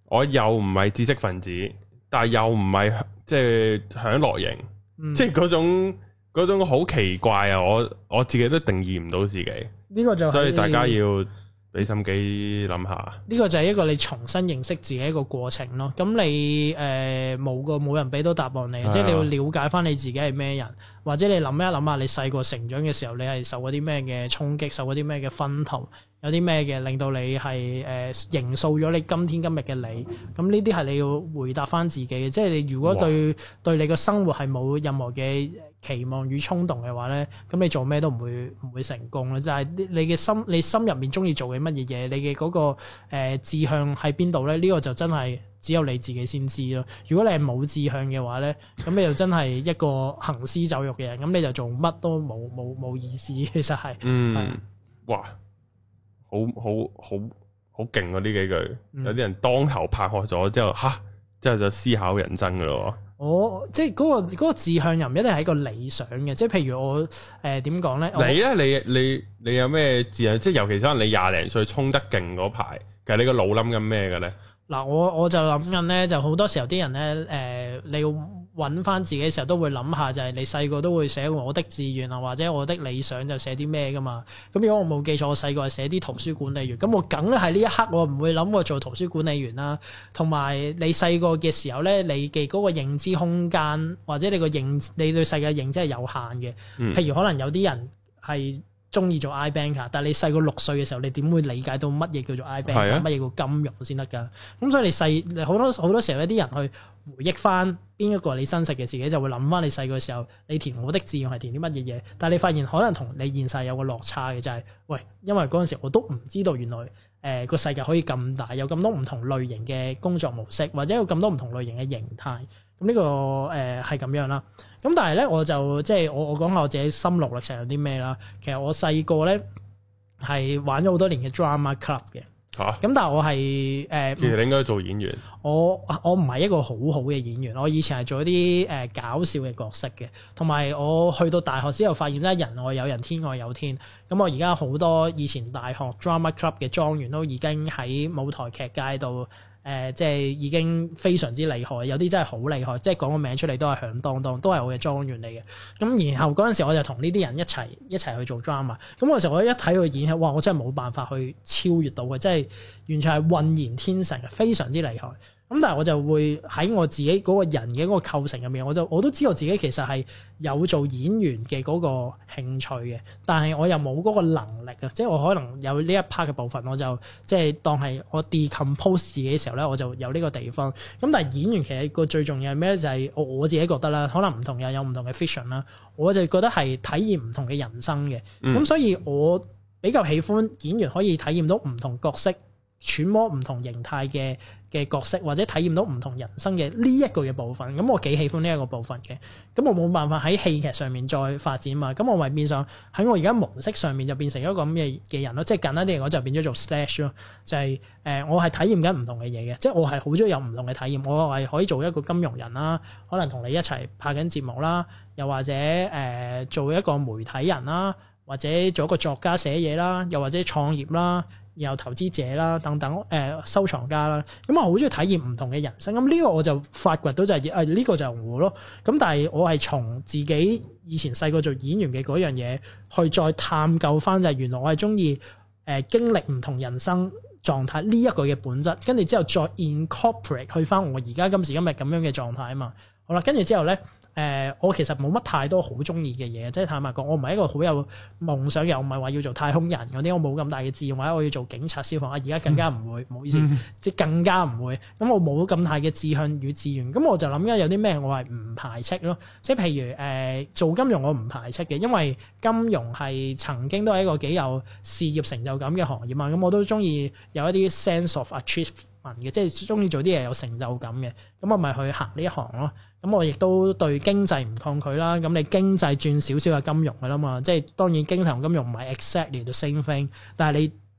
S1: 我又唔係知識分子，但係又唔係即係享樂型，即係嗰種好奇怪啊！我自己都定義唔到自己，呢個就係，所以大家要俾心機諗下。呢個就係一個你重新認識自己一個過程咯。咁你冇人俾到答案你，即係你要了解翻你自己係咩人，或者你諗一諗下你細個成長嘅時候，你係受嗰啲咩嘅衝擊，受嗰啲咩嘅薰陶。有啲咩嘅令到你係形塑咗你今天今日嘅你，咁呢啲係你要回答翻自己嘅，即係你如果對你個生活係冇任何嘅期望與衝動嘅話咧，咁你做咩都唔會成功啦。就係你心入面中意做嘅乜嘢嘢，你嘅嗰個志向喺邊度咧？呢個就真係只有你自己先知咯。如果你係冇志向嘅話咧，咁你就真係一個行屍走肉嘅人，咁你就做乜都冇意思。其實係哇！好勁啊！呢幾句，有啲人當頭拍喝咗之後，之後就思考人生噶咯。即係嗰個志向又唔一定係一個理想嘅，即係譬如我點講咧？你有咩志向？即係尤其可能你廿零歲衝得勁嗰排，其實你個腦諗緊咩嘅咧？嗱，我就諗緊咧，就好多時候啲人咧，你要揾翻自己嘅時候都會諗下，就係你細個都會寫我的志願啊，或者我的理想就寫啲咩噶嘛。咁如果我冇記錯，我細個係寫啲圖書管理員，咁我梗係呢一刻我唔會諗過做圖書管理員啦。同埋你細個嘅時候咧，你嘅嗰個認知空間或者你對世界認知係有限嘅。譬如可能有啲人係中意做 iBanker， 但係你細個6歲嘅時候，你點會理解到乜嘢叫做 iBanker，乜嘢叫金融先得噶？咁所以你好多時候有啲人去回憶翻邊一個你真實嘅自己，就會諗翻你細個嘅時候，你填我的志願係填啲乜嘢嘢？但係你發現可能同你現實有個落差嘅，就係因為嗰陣時我都唔知道原來個世界可以咁大，有咁多唔同類型嘅工作模式，或者有咁多唔同類型嘅形態。咁呢個係咁樣啦。咁但係咧，我就即係我講下我自己心路歷程有啲咩啦。其實我細個咧係玩咗好多年嘅 drama club 嘅。咁但係我係其實你應該做演員。我唔係一個好好嘅演員。我以前係做一啲搞笑嘅角色嘅。同埋我去到大學之後發現咧，人外有人，天外有天。咁我而家好多以前大學 drama club 嘅莊園都已經喺舞台劇界度。即係已經非常之厲害，有啲真係好厲害，即係講個名出嚟都係響當當，都係我嘅莊園嚟嘅。咁然後嗰陣時我就同呢啲人一齊去做 drama。咁嗰時我一睇佢演戲，哇！我真係冇辦法去超越到嘅，即係完全係渾然天成，非常之厲害。咁但係我就會喺我自己嗰個人嘅嗰個構成入面，我都知道自己其實係有做演員嘅嗰個興趣嘅，但係我又冇嗰個能力啊，即係我可能有呢一 part 嘅部分，我就即係當係我 decompose 自己嘅時候咧，我就有呢個地方。咁但係演員其實個最重要係咩咧？就係我自己覺得啦，可能唔同人有唔同嘅 vision 啦，我就覺得係體驗唔同嘅人生嘅。咁所以我比較喜歡演員可以體驗到唔同角色，揣摩唔同形態嘅角色，或者體驗到唔同人生嘅呢一個嘅部分，咁我幾喜歡呢一個部分嘅。咁我冇辦法喺戲劇上面再發展嘛，咁我咪變相喺我而家模式上面就變成一個咁嘅人咯。即係簡單啲嚟講，就變咗做 slash 咯，就係我係體驗緊唔同嘅嘢嘅，即係我係好中意有唔同嘅體驗。我係可以做一個金融人啦，可能同你一齊拍緊節目啦，又或者做一個媒體人啦，或者做一個作家寫嘢啦，又或者創業啦。然後投資者啦，等等，收藏家啦，咁我好中意體驗唔同嘅人生。咁呢個我就發掘到就係呢個就係我咯。咁但係我係從自己以前細個做演員嘅嗰樣嘢去再探究翻，就係原來我係中意經歷唔同人生狀態呢一個嘅本質，跟住之後再 incorporate 去翻我而家今時今日咁樣嘅狀態啊嘛。好啦，跟住之後咧。我其實冇乜太多好中意嘅嘢，即係坦白講，我唔係一個好有夢想，又唔係話要做太空人嗰啲，我冇咁大嘅志願，或者我要做警察、消防，而家更加唔會，唔好意思，即係更加唔會。咁我冇咁大嘅志向與志願，咁我就諗緊有啲咩我係唔排斥咯。即係譬如做金融我唔排斥嘅，因為金融係曾經都係一個幾有事業成就感嘅行業嘛。咁我都中意有一啲 sense of achievement嘅，即係中意做啲嘢有成就感嘅。咁我咪去行呢一行咯。咁我亦都對經濟唔抗拒啦。咁你經濟轉少少嘅金融㗎啦嘛，即係當然經濟同金融唔係 exactly the same thing，但係你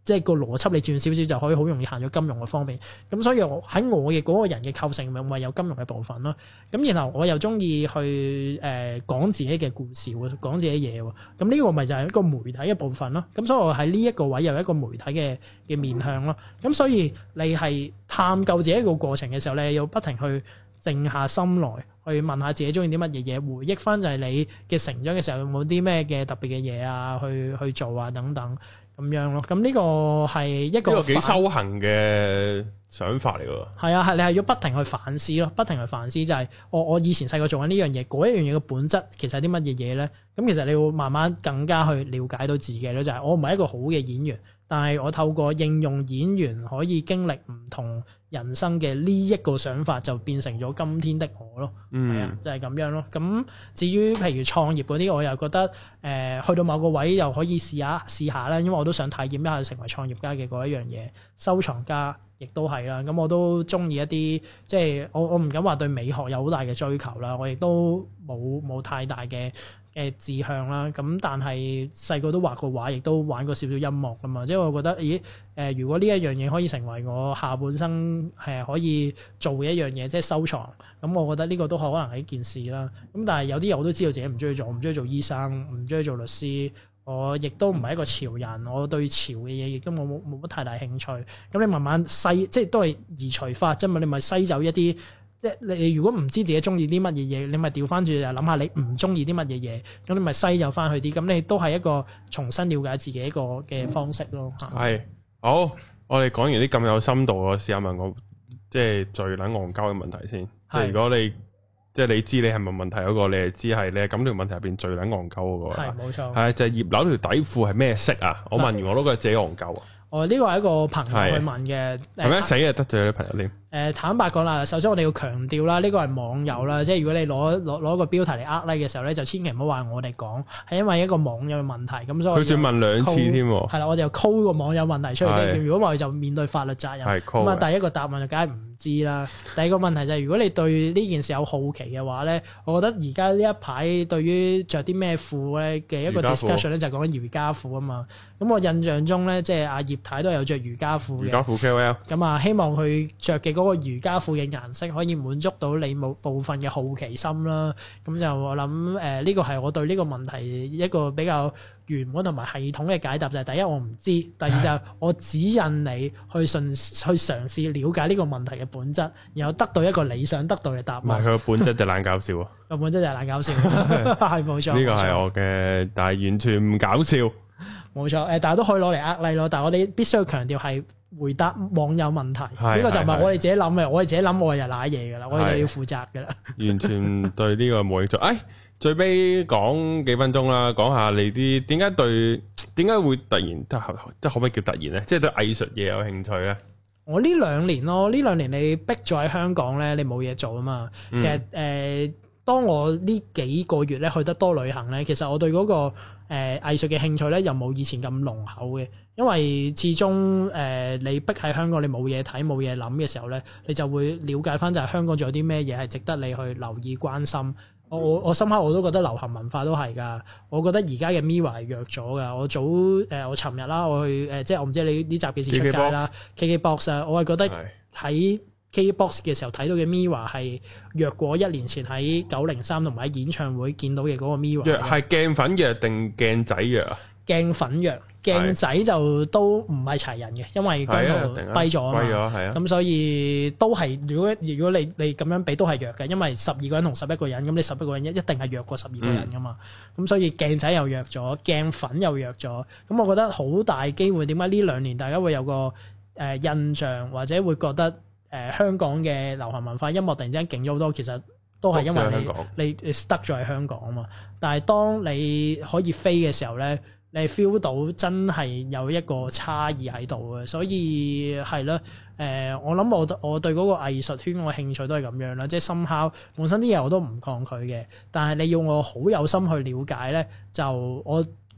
S2: 即係個邏輯你轉少少就可以好容易行咗金融嘅方面。咁所以我喺我嘅嗰個人嘅構成咪有金融嘅部分咯。咁然後我又中意去講自己嘅故事喎，講自己嘢喎。咁呢個咪就係一個媒體嘅部分咯。咁所以我喺呢一個位有一個媒體嘅面向咯。咁所以你係探究自己一個過程嘅時候，你要不停去靜下心來去問下自己中意啲乜嘢嘢，回憶翻就係你嘅成長嘅時候有冇啲咩嘅特別嘅嘢啊，去做啊等等咁樣咯。咁呢個係一個幾
S1: 修行嘅想法嚟㗎。係
S2: 啊，係你係要不停去反思咯，不停去反思就係我以前細個做緊呢樣嘢，嗰一樣嘢嘅本質其實係啲乜嘢嘢咧？咁其實你會慢慢更加去了解到自己咯，就係我唔係一個好嘅演員，但係我透過應用演員可以經歷唔同人生嘅呢一個想法，就變成咗今天的我咯。係啊，就係咁樣咯。咁至於譬如創業嗰啲，我又覺得去到某個位又可以試下啦，因為我都想體驗一下成為創業家嘅嗰一樣嘢，收藏家亦都係啦。咁我都中意一啲，即係我唔敢話對美學有好大嘅追求啦，我亦都冇太大嘅志向啦。咁但係細個都畫過畫，亦都玩過少少音樂噶嘛。即係我覺得，如果呢一樣嘢可以成為我下半生可以做嘅一樣嘢，即係收藏，咁我覺得呢個都可能係一件事啦。咁但係有啲嘢我都知道自己唔中意做，唔中意做醫生，唔中意做律師。我亦都唔係一個潮人，我對潮嘅嘢亦都冇乜太大興趣。咁你慢慢篩，即係都係移除法啫嘛。你咪篩走一啲。即係你如果唔知自己中意啲乜嘢嘢，你咪調翻轉就諗下你唔中意啲乜嘢嘢，咁你咪篩走翻去啲，咁你都係一個重新了解自己一個嘅方式咯。
S1: 係好，我哋講完啲咁有深度，我試下問我即係最撚戇鳩嘅問題先。即係如果你即係你知你係問問題嗰個，你係知係你係咁條問題入邊最撚戇鳩嗰個。係冇錯。係就係葉劉條底褲係咩色啊？我問完我都覺得自己戇鳩啊。呢
S2: 個係一個朋友去問嘅。係咩？
S1: 死啊！得罪咗啲朋友添。
S2: 坦白講啦，首先我哋要強調啦，呢個係網友啦，即係如果你攞個標題嚟呃 like 嘅時候咧，就千祈唔好話我哋講，係因為一個網友嘅問題，咁所以佢仲問2次添。係啦，我哋又 call 個網友問題出嚟先，如果唔係就面對法律責任。咁啊，第一個答案就梗係唔知啦。第二個問題就係如果你對呢件事有好奇嘅話咧，我覺得而家呢一排對於着啲咩褲咧嘅一個 discussion 咧就係講緊瑜伽褲啊嘛。咁我印象中咧，即係阿葉太都有着瑜伽褲嘅。瑜伽褲 KOL。咁啊，希望佢着嘅嗰個瑜伽褲嘅顏色可以滿足到你部分嘅好奇心啦。咁就我諗呢個係我對呢個問題一個比較圓滿同埋系統嘅解答，就係第一我唔知，第二就係我指引你去嘗試了解呢個問題嘅本質，然後得到一個你想得到嘅答案。唔係佢個本質就懶搞笑啊！個本質就係懶搞笑，係冇錯。呢個係我嘅，但係完全唔搞笑。冇錯，大家都可以攞嚟呃 like 咯，但係我哋必須要強調係回答網友問題，呢個就唔係我哋自己諗嘅，我哋自己諗我哋就瀨嘢噶啦，我哋就要負責噶啦。完全對呢個冇興趣。最尾講幾分鐘啦，講下你啲點解會突然即係可唔可以叫突然咧？即係對藝術嘢有興趣咧？我呢兩年咯，呢兩年你逼咗喺香港咧，你冇嘢做啊嘛。其實當我呢幾個月咧去得多旅行咧，其實我對嗰個藝術嘅興趣咧又冇以前咁濃厚嘅，因為始終你逼喺香港，你冇嘢睇冇嘢諗嘅時候咧，你就會了解翻就係香港仲有啲咩嘢係值得你去留意關心。我深刻我都覺得流行文化都係㗎，我覺得而家嘅 Mirror 係弱咗㗎。我尋日啦，我去即係我唔知你呢集幾時出街啦。KKBox 啊，我係覺得喺KKBox 嘅時候睇到嘅 Mirror 係弱過1年前喺903同埋喺演唱會見到嘅嗰個 Mirror。弱係鏡粉弱定鏡仔弱啊？鏡粉弱，鏡仔就都唔係齊人嘅，因為嗰度跛咗啊嘛。咁所以都係如果你咁樣比都係弱嘅，因為12個人同11個人，咁你11個人一定係弱過12個人噶嘛。咁所以鏡仔又弱咗，鏡粉又弱咗。咁我覺得好大機會，點解呢2年大家會有個印象，或者會覺得香港嘅流行文化音樂突然之間勁咗好多，其實都係因為你 stuck 咗喺香港啊嘛。但係當你可以飛嘅時候咧，你 feel 到真係有一個差異喺度嘅，所以係啦。我諗我對嗰個藝術圈我興趣都係咁樣啦，即係somehow本身啲嘢我都唔抗拒嘅，但係你要我好有心去了解咧，就我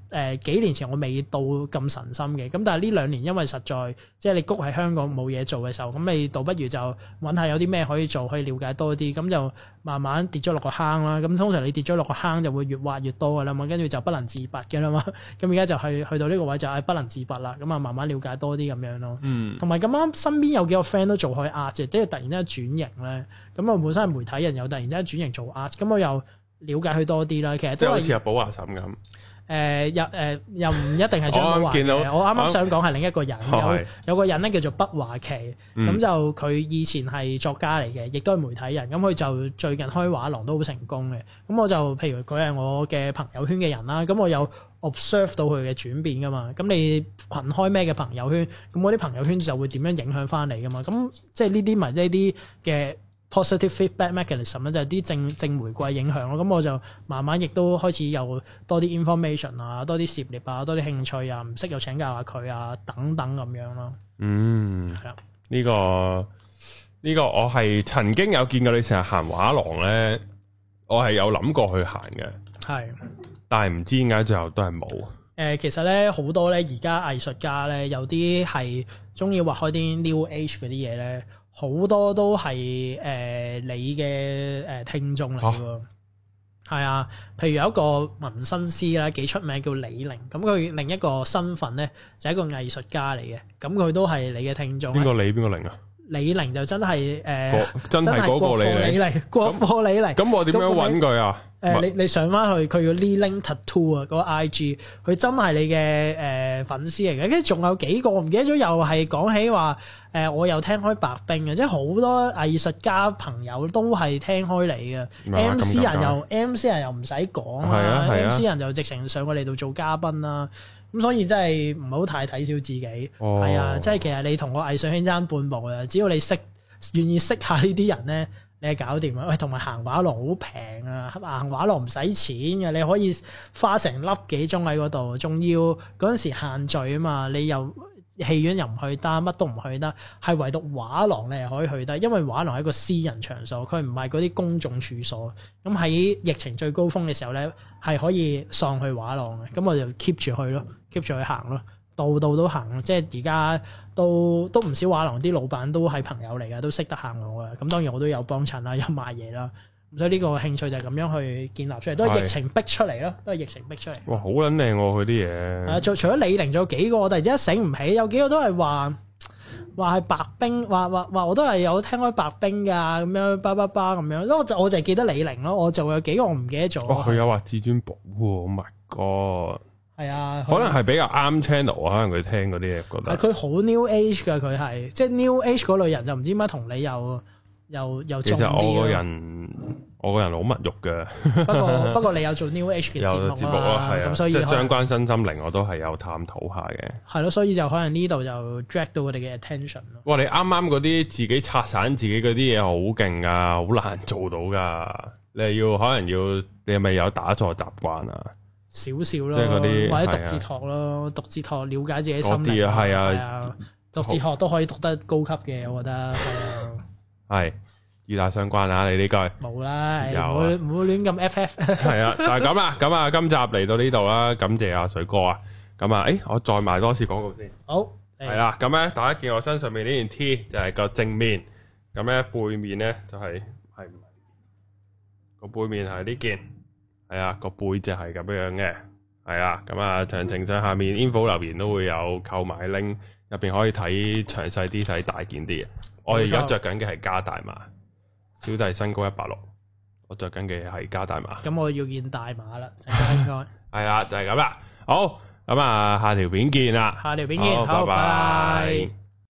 S2: 幾年前我未到咁神心嘅，咁但係呢2年因為實在即係你谷喺香港冇嘢做嘅時候，咁你倒不如就揾下有啲咩可以做，可以了解多啲，咁就慢慢跌咗落個坑啦。咁通常你跌咗落個坑就會越挖越多噶啦嘛，跟住就不能自拔嘅啦嘛。咁而家就去到呢個位就係不能自拔啦，咁啊慢慢了解多啲咁樣咯。同埋咁啱身邊有幾個 friend 都做開 art 嘅，即係突然之間轉型咧，咁我本身係媒體人，又突然之間轉型做 art，咁我又了解佢多啲啦。其實即係好似
S1: 阿寶華嬸咁。
S2: 又唔一定係張寶華嘅，我啱啱想講係另一個人，有個人咧叫做畢華琪，咁就佢以前係作家嚟嘅，亦都係媒體人，咁佢就最近開畫廊都好成功嘅，咁我就譬如佢係我嘅朋友圈嘅人啦，咁我有 observe 到佢嘅轉變噶嘛，咁你群開咩嘅朋友圈，咁我啲朋友圈就會點樣影響翻嚟噶嘛，咁即係呢啲咪呢啲嘅positive feedback mechanism 咧，就係啲正回饋影響咯。咁我就慢慢亦都開始有多啲 information 啊，多啲涉獵啊，多啲興趣啊，唔識又請教下佢啊，等等咁樣咯。係啦，
S1: 呢個我係曾經有見過你成日行畫廊咧，我係有諗過去行嘅，係，但係唔知點解最後都係冇。
S2: 其實咧好多咧而家藝術家咧，有啲係中意畫開啲 New Age 嗰啲嘢咧。好多都係你嘅聽眾嚟喎，係啊，譬如有一個紋身師啦，幾出名叫李寧，咁佢另一個身份咧就係一個藝術家嚟嘅，咁佢都係你嘅聽眾。邊個李？邊個寧啊？李寧就真係
S1: 真係嗰個李寧，
S2: 國貨李寧。
S1: 咁我點樣揾佢啊？
S2: 你上翻去佢叫 Li-Ling Tattoo 啊，嗰個 IG，佢真係你嘅粉絲嚟嘅。跟住仲有幾個我唔記得咗，又係講起話我又聽開白冰嘅，即係好多藝術家朋友都係聽開你嘅。MC 人又唔使講啦，MC 人就直情上過嚟度做嘉賓啦。咁所以真係唔好太睇小自己，係啊，即係其實你同個藝術圈爭半步啊，只要你願意識下呢啲人咧，你係搞掂啊！喂，同埋行畫廊好平啊，行畫廊唔使錢嘅，你可以花成粒幾鐘喺嗰度，仲要嗰陣時限聚啊嘛，你又戲院又唔去得，乜都唔去得，係唯獨畫廊你係可以去得，因為畫廊係一個私人場所，佢唔係嗰啲公眾處所。咁喺疫情最高峰嘅時候咧，係可以上去畫廊嘅，咁我就 keep 住去咯，keep 住去行咯，度都行，即係而家都唔少畫廊啲老闆都係朋友嚟嘅，都識得行我嘅。咁當然我都有幫襯啦，有賣嘢啦。所以呢個興趣就係咁樣去建立出嚟，都係疫情逼出嚟咯，都係疫情逼出嚟。哇，好撚靚喎佢啲嘢。除咗李寧，仲有幾個我突然之間醒唔起，有幾個都係話係白冰，話我都係有聽開白冰㗎，咁樣巴咁樣。因為我就係記得李寧咯，我就有幾個我唔記得咗。佢有話至尊寶喎 ，Oh my god！係啊，可能係比較啱 channel 啊，可能佢聽嗰啲嘢覺得。佢好 New Age 㗎，佢係即係 New Age 嗰類人，就唔知點解同你又其實我個人好物欲嘅，不過你有做 New Age 嘅節目啦，咁所以即係相關身心靈我都係有探討下嘅。係咯，所以就可能呢度就 drag 到我哋嘅 attention 咯。哇！你啱啱嗰啲自己拆散自己嗰啲嘢好勁啊，好難做到噶。你係咪有打坐習慣啊？少少咯，即係嗰啲或者讀哲學咯，讀哲學了解自己心靈啊，係啊，讀哲學都可以讀得高級嘅，我覺得係啊。係與大相關啊！你呢句冇啦，唔好亂咁 FF。係啊，就係咁啦。咁啊，今集嚟到呢度啦，感謝阿水哥啊。咁啊，我再賣多次廣告先。好，係啦。咁咧，大家見我身上面呢件 T 就係個正面，咁咧背面咧就係唔係個背面係呢件，係啊，個背脊係咁樣嘅，係啊。咁啊，詳情上下面 info 留言都會有購買 link，入邊可以睇詳細啲、睇大件啲嘅。我而家着緊嘅係加大碼，小弟身高160，我着緊嘅係加大碼。咁我要件大碼啦，應該係啦，就係咁啦。好，咁啊，下條片見啦。下條片見，好，拜拜。